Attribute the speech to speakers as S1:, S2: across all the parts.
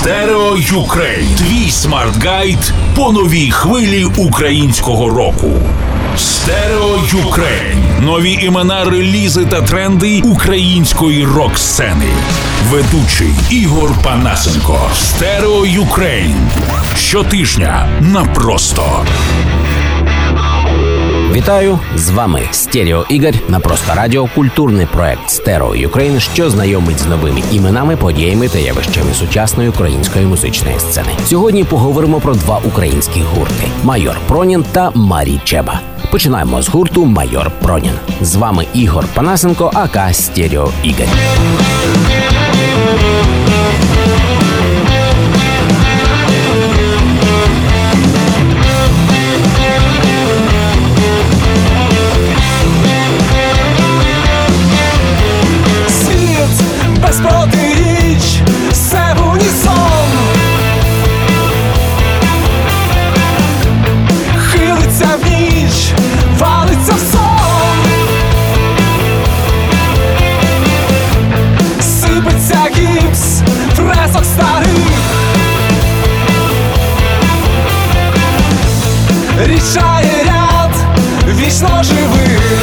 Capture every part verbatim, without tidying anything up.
S1: Стерео Юкрейн. Твій смарт-гайд по новій хвилі українського року. Стерео Юкрейн. Нові імена, релізи та тренди української рок-сцени. Ведучий Ігор Панасенко. Стерео Юкрейн. Щотижня на Просто.
S2: Вітаю! З вами Стерео Ігор на Просто Радіо, культурний проект Стерео Юкрейн, що знайомить з новими іменами, подіями та явищами сучасної української музичної сцени. Сьогодні поговоримо про два українські гурти – Майор Пронін та Марі Чеба. Починаємо з гурту Майор Пронін. З вами Ігор Панасенко, ака Стерео Ігор.
S3: Без протиріч, все в унісон. Хилиться в ніч, валиться в сон. Сипеться гіпс, фресок старих. Рішає ряд вічно живих.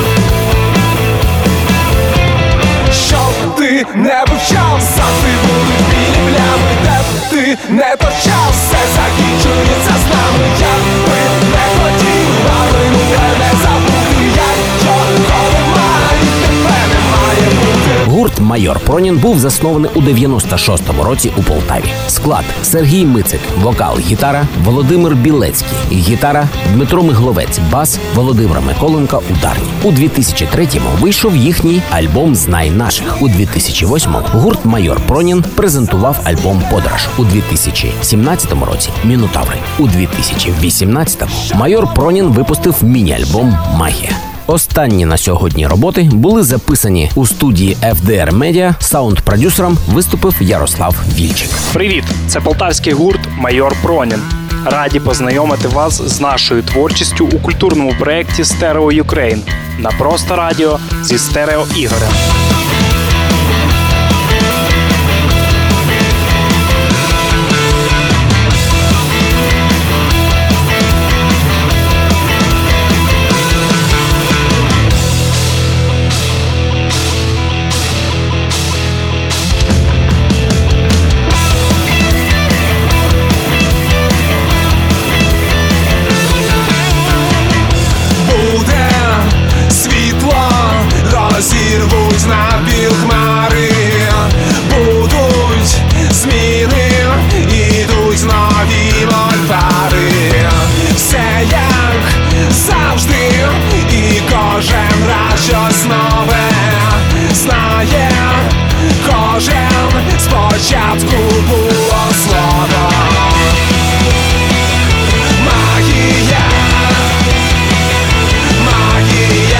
S3: Ти не вивчав, завжди будуть білі плями, де б ти не торчав, все закінчується з нами. Я би не хотів, але мене забути, як його немає, тебе не має бути.
S2: Гурт Майор Пронін був заснований у дев'яносто шостому році у Полтаві. Склад: Сергій Мицик, вокал, гітара, Володимир Білецький, гітара, Дмитро Мигловець, бас, Володимир Миколенко, ударні. У дві тисячі третьому вийшов їхній альбом «Знай наших». У дві тисячі восьмому гурт Майор Пронін презентував альбом «Подорож». У дві тисячі сімнадцятому році «Мінотаври». У дві тисячі вісімнадцятому Майор Пронін випустив міні-альбом «Магія». Останні на сьогодні роботи були записані у студії еф де ар Media. Саунд-продюсером виступив Ярослав Вільчик.
S4: Привіт! Це полтавський гурт Майор Пронін. Раді познайомити вас з нашою творчістю у культурному проєкті Стерео Юкрейн на Просто Радіо зі Стерео Ігорем.
S3: Зірвуть на біл хмари, будуть зміни, ідуть нові мольфари. Все як завжди, і кожен раз щось нове знає. Кожен спочатку було слово. Магія, магія.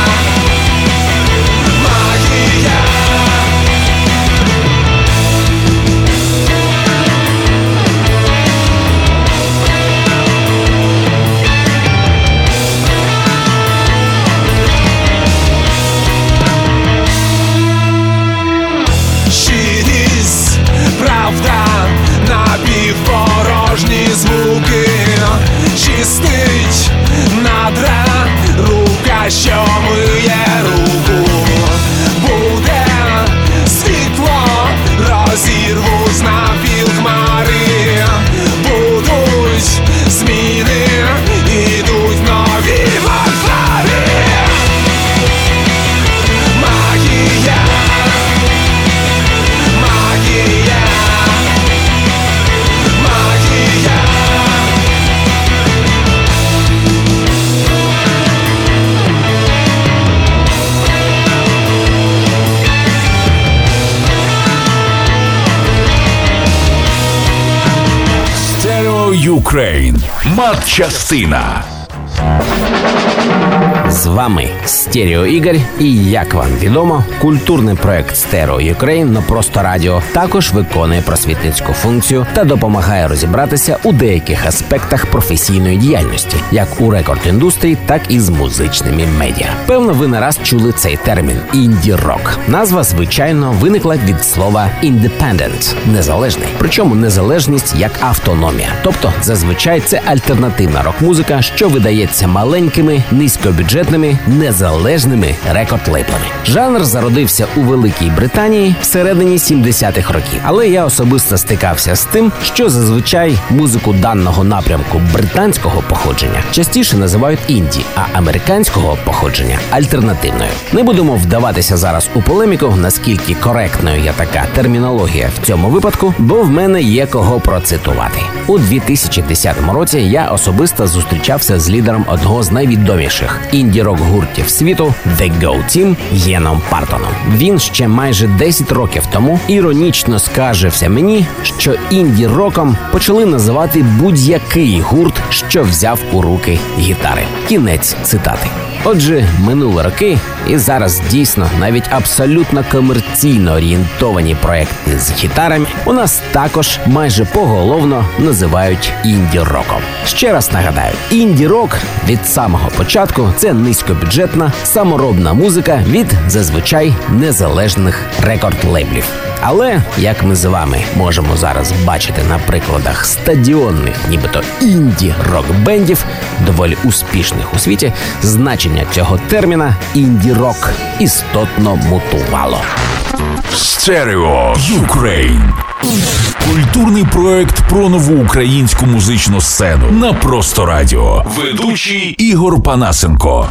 S3: Напівпорожні звуки, чистить надра, рука, що миє руку. Буде світло, розірвуть навпіл хмари, будуть зміни, ідуть нові варвари. Магія, магія.
S1: Стерео Юкрейн. Матчастина.
S2: З вами Стерео Ігор, і, як вам відомо, культурний проект Стерео Юкрейн на Просто Радіо також виконує просвітницьку функцію та допомагає розібратися у деяких аспектах професійної діяльності, як у рекорд-індустрії, так і з музичними медіа. Певно, ви не раз чули цей термін – інді-рок. Назва, звичайно, виникла від слова independent – незалежний. Причому незалежність як автономія. Тобто, зазвичай це альтернативна рок-музика, що видається маленькими, низькобюджетними, незалежними рекорд-лейблами. Жанр зародився у Великій Британії всередині сімдесятих років. Але я особисто стикався з тим, що зазвичай музику даного напрямку британського походження частіше називають інді, а американського походження – альтернативною. Не будемо вдаватися зараз у полеміку, наскільки коректною є така термінологія в цьому випадку, бо в мене є кого процитувати. У дві тисячі десятому році я особисто зустрічався з лідером одного з найвідоміших інді-рок-гуртів світу The Go Team Єном Партоном. Він ще майже десять років тому іронічно скаржився мені, що інді-роком почали називати будь-який гурт, що взяв у руки гітари. Кінець цитати. Отже, минули роки, і зараз дійсно навіть абсолютно комерційно орієнтовані проекти з гітарами у нас також майже поголовно називають інді-роком. Ще раз нагадаю, інді-рок від самого початку – це низькобюджетна, саморобна музика від зазвичай незалежних рекорд-лейблів. Але, як ми з вами можемо зараз бачити на прикладах стадіонних, нібито інді-рок-бендів, доволі успішних у світі, значення цього терміна «інді-рок» істотно мутувало.
S1: Стерео Юкрейн. Культурний проект про нову українську музичну сцену на Просто Радіо. Ведучий Ігор Панасенко.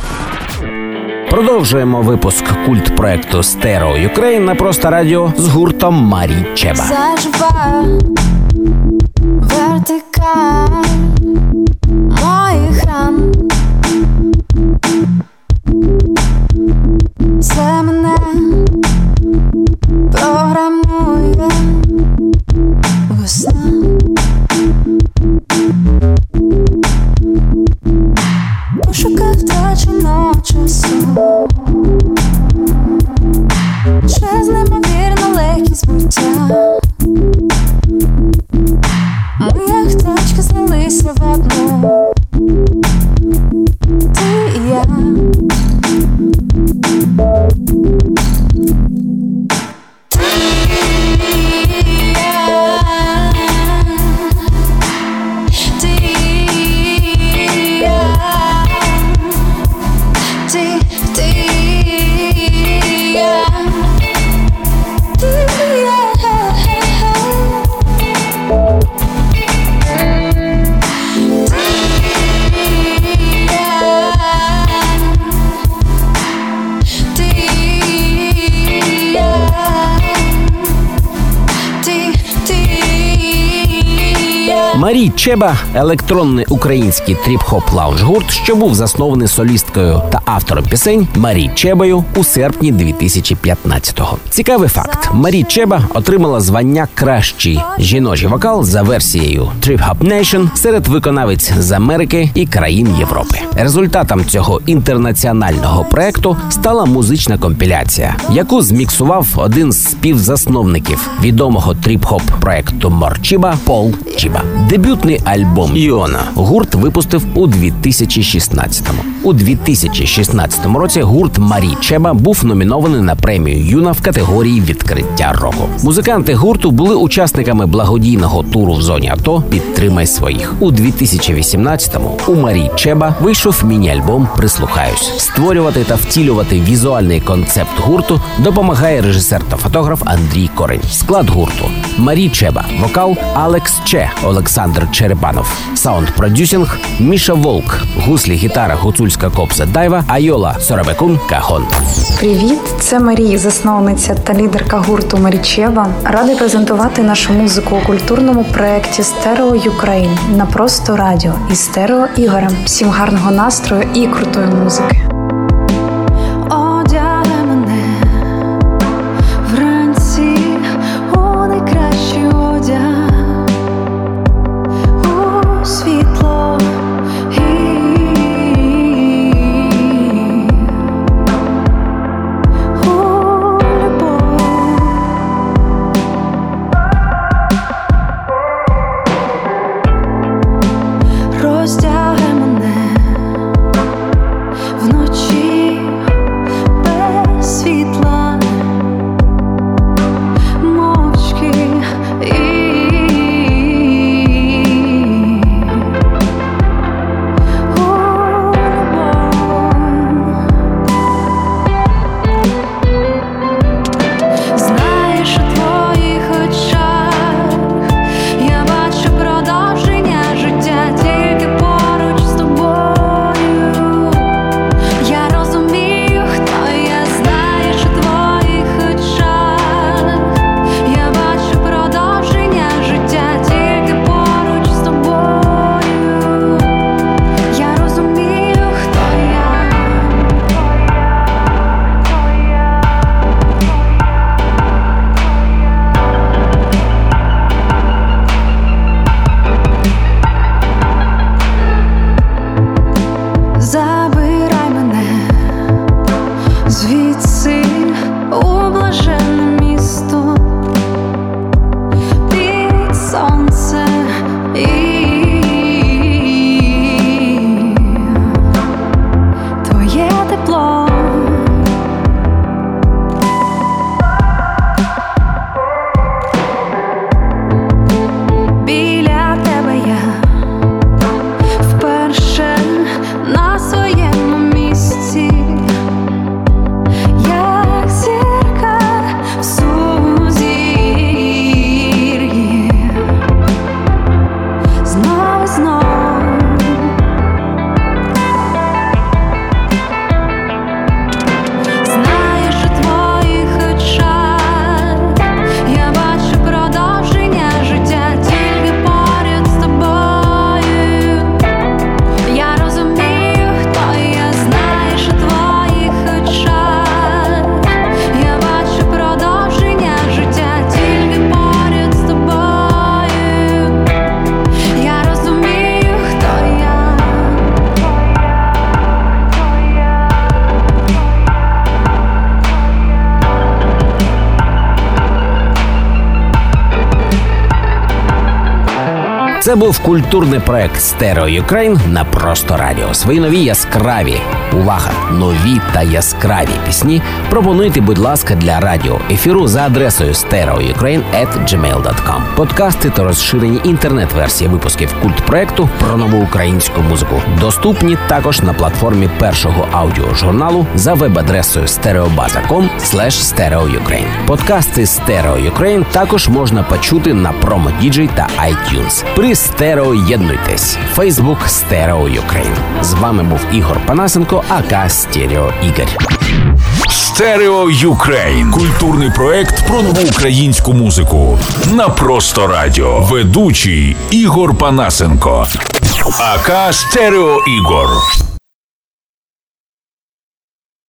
S2: Продовжуємо випуск культ-проекту Стерео Юкрейн на Просто Радіо з гуртом Марі Чеба.
S5: Зажива вертикаль моїх ран. Це мене програмує весна. Пошукав втраченого часу, через неймовірну легкість буття. Ми як тачки злилися в одну, ти і я.
S2: Марі Чеба – електронний український тріп-хоп лаунж-гурт, що був заснований солісткою та автором пісень Марі Чебою у серпні дві тисячі п'ятнадцятого. Цікавий факт. Марі Чеба отримала звання «Кращий жіночий вокал» за версією Trip Hop Nation серед виконавиць з Америки і країн Європи. Результатом цього інтернаціонального проекту стала музична компіляція, яку зміксував один з співзасновників відомого тріп-хоп проекту Морчіба Пол Чіба. Дебютний альбом «Іона» гурт випустив у дві тисячі шістнадцятому. У дві тисячі шістнадцятому році гурт Марі Чеба був номінований на премію «Юна» в категорії «Відкриття року». Музиканти гурту були учасниками благодійного туру в зоні АТО «Підтримай своїх». У дві тисячі вісімнадцятому у Марі Чеба вийшов міні-альбом «Прислухаюсь». Створювати та втілювати візуальний концепт гурту допомагає режисер та фотограф Андрій Корень. Склад гурту – Марі Чеба, вокал Алекс Че, Олександр Черепанов, саунд-продюсінг Міша Волк, гуслі, гітара, гуцульська кобза Дайва, Айола, Сорабекун, Кахон.
S6: Привіт, це Марія, засновниця та лідерка гурту Марі Чеба. Радий презентувати нашу музику у культурному проєкті Стерео Юкрейн на Просто Радіо із Стерео Ігорем. Всім гарного настрою і крутої музики.
S5: Одягай мене вранці у найкращий одяг, у світло і
S2: Це був культурний проект Стерео Юкрейн на Просто Радіо. Свої нові яскраві, увага, нові та яскраві пісні пропонуйте, будь ласка, для радіоефіру за адресою стереоюкрейн крапка джимейл крапка ком. Подкасти та розширені інтернет-версії випусків культпроекту про нову українську музику доступні також на платформі першого аудіожурналу за веб-адресою стереобаза крапка ком слеш стереоюкрейн. Подкасти Стерео Юкрейн також можна почути на Промо Діджей та iTunes. При Стерео єднуйтесь. Facebook Стерео Юкрейн. З вами був Ігор Панасенко, ака Стерео Ігор.
S1: Стерео Юкрейн. Культурний проект про нову українську музику. На Просто Радіо. Ведучий Ігор Панасенко. ака Стерео Ігор.